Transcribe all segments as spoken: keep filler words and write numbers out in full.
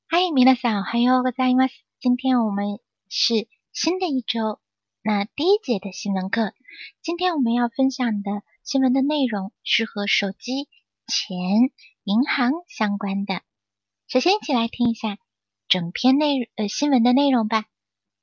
嗨，皆さん、おはようございます。今天我们是新的一周，那第一节的新闻课。今天我们要分享的新闻的内容是和手机、钱、银行相关的。首先，一起来听一下整篇内呃新闻的内容吧。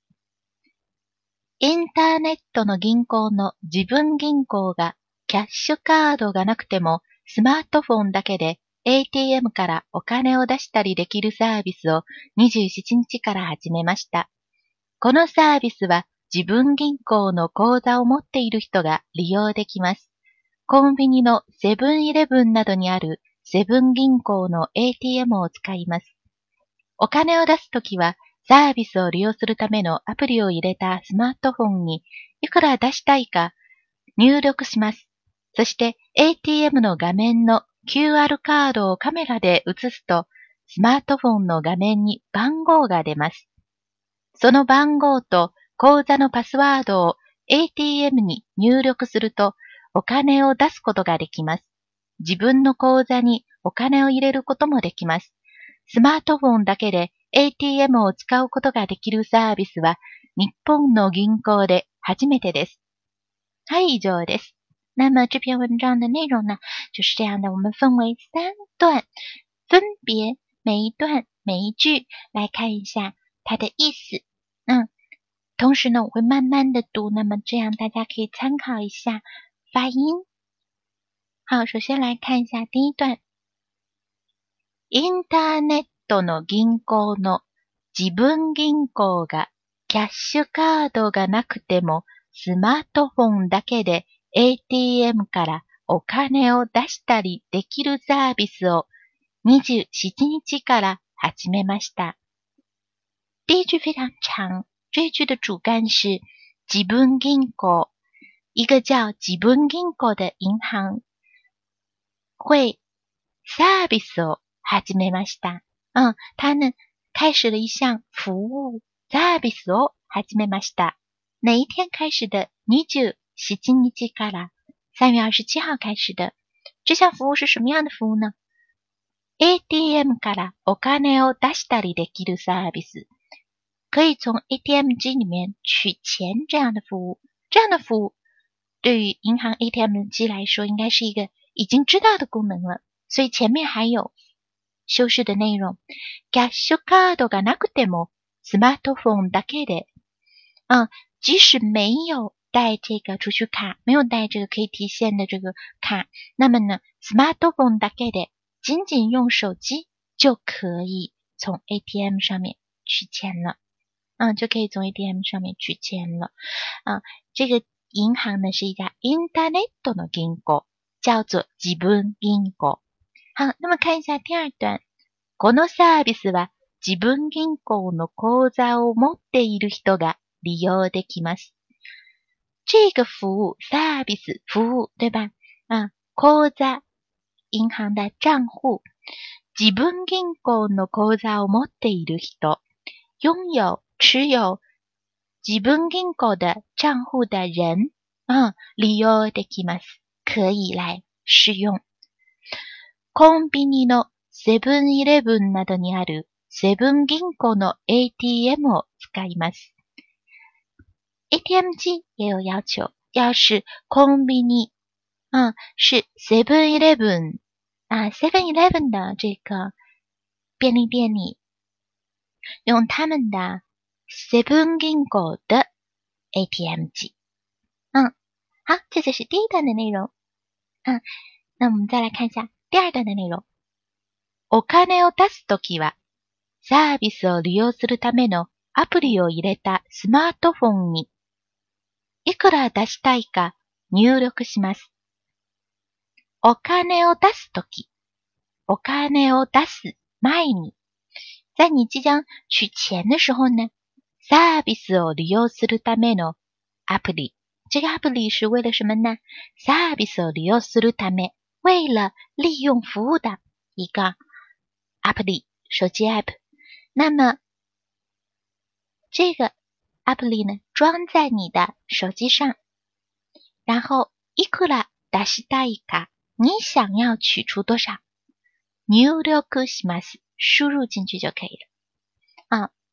インターネットの銀行の自分銀行がキャッシュカードがなくてもスマートフォンだけでエーティーエム からお金を出したりできるサービスをにじゅうしちにちから始めました。このサービスは自分銀行の口座を持っている人が利用できます。コンビニのセブンイレブンなどにあるセブン銀行の エーティーエム を使います。お金を出すときはサービスを利用するためのアプリを入れたスマートフォンにいくら出したいか入力します。そして エーティーエム の画面の キューアール カードをカメラで映すと、スマートフォンの画面に番号が出ます。その番号と口座のパスワードを エーティーエム に入力すると、お金を出すことができます。自分の口座にお金を入れることもできます。スマートフォンだけで エーティーエム を使うことができるサービスは、日本の銀行で初めてです。はい、以上です。那么这篇文章的内容呢，就是这样的，我们分为三段，分别每一段每一句来看一下它的意思。嗯，同时呢，我会慢慢的读，那么这样大家可以参考一下发音。好，首先来看一下第一段。インターネットの銀行の自分銀行がキャッシュカードがなくてもスマートフォンだけでエーティーエム からお金を出したりできるサービスをにじゅうしちにちから始めました。第一句非常长，这一句的主干是自分銀行，一个叫自分銀行的银行会サービスを始めました。嗯，它呢开始了一项服务，サービスを始めました。哪一天开始的？にじゅうしちにちから三月二十七号开始的。这项服务是什么样的服务呢？ エーティーエム からお金を出したりできるサービス，可以从 A T M 机里面取钱这样的服务。这样的服务对于银行 A T M 机来说应该是一个已经知道的功能了，所以前面还有修饰的内容。キャッシュカードがなくてもスマートフォンだけで，嗯，即使没有带这个储蓄卡，没有带这个可以提现的这个卡，那么呢 smartphone だけで仅仅用手机就可以从 A T M 上面取钱了。嗯，就可以从 A T M 上面取钱了。啊，这个银行呢是一家インターネットの銀行，叫做自分銀行。好，那么看一下第二段。このサービスは自分銀行の口座を持っている人が利用できます。这个服务 service 服务对吧？啊，口座银行的账户，自分銀行の口座を持っている人，拥有持有自分銀行的账户的人，啊，利用できます，可以来使用。コンビニのセブンイレブンなどにあるセブン銀行の エーティーエム を使います。A T M 机也有要求，要是コンビニ，嗯，是 seven eleven 啊 seven eleven 的这个便利店里，用他们的セブン銀行的 A T M 机。嗯，好，这就是第一段的内容。嗯，那我们再来看一下第二段的内容。お金を出すときは、サービスを利用するためのアプリを入れたスマートフォンにいくら出したいか入力します。お金を出すとき、お金を出す前に，在你即将取钱的时候呢，サービスを利用するためのアプリ，这个アプリ是为了什么呢？サービスを利用するため，为了利用服务的一个アプリ，手机 app。那么这个アプリ呢，装在你的手机上，然后いくら出したいか，你想要取出多少？入力します，输入进去就可以了。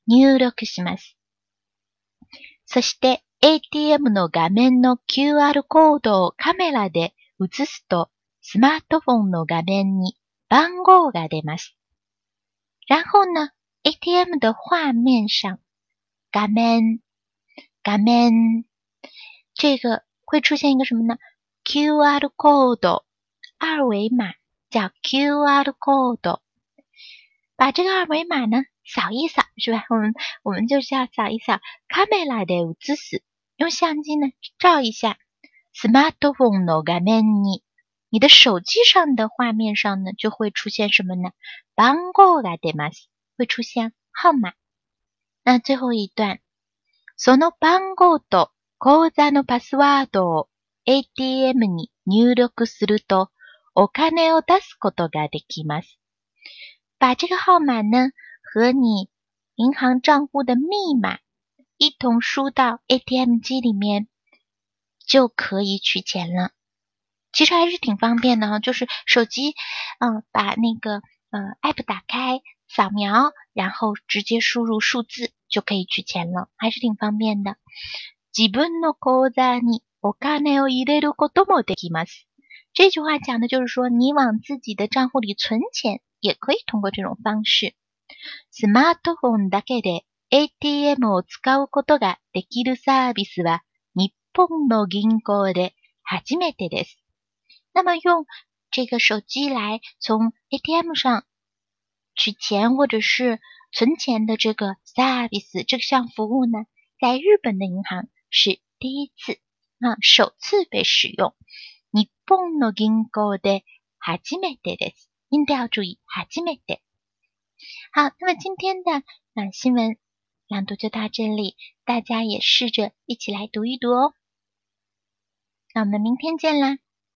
入力します。そして エーティーエム の画面の キューアール コードをカメラで映すと、スマートフォンの画面に番号が出ます。然后呢 ，エーティーエム 的画面上，画面，画面，这个会出现一个什么呢 ？キューアール コード，二维码叫 キューアール コード。把这个二维码呢扫一扫，是吧？我们我们就是要扫一扫。カメラで映す，用相机呢照一下。スマートフォンの画面に，你的手机上的画面上呢就会出现什么呢？番号が出ます，会出现号码。那最后一段，その番号と口座のパスワードを エーティーエム に入力すると、お金を出すことができます。把这个号码呢和你银行账户的密码一同输到 A T M 机里面，就可以取钱了。其实还是挺方便的哈，就是手机，嗯、呃，把那个呃 app 打开，扫描，然后直接输入数字就可以取钱了，还是挺方便的。自分の口座にお金を入れることもできます。这句话讲的就是说，你往自己的账户里存钱，也可以通过这种方式。スマートフォンだけで エーティーエム を使うことができるサービスは日本の銀行で初めてです。那么用这个手机来从 A T M 上取钱或者是存钱的这个 service 这项服务呢，在日本的银行是第一次啊，首次被使用。日本の銀行で初めてです。音调注意，初めて。好，那么今天的啊新闻朗读就到这里，大家也试着一起来读一读哦。那我们明天见啦。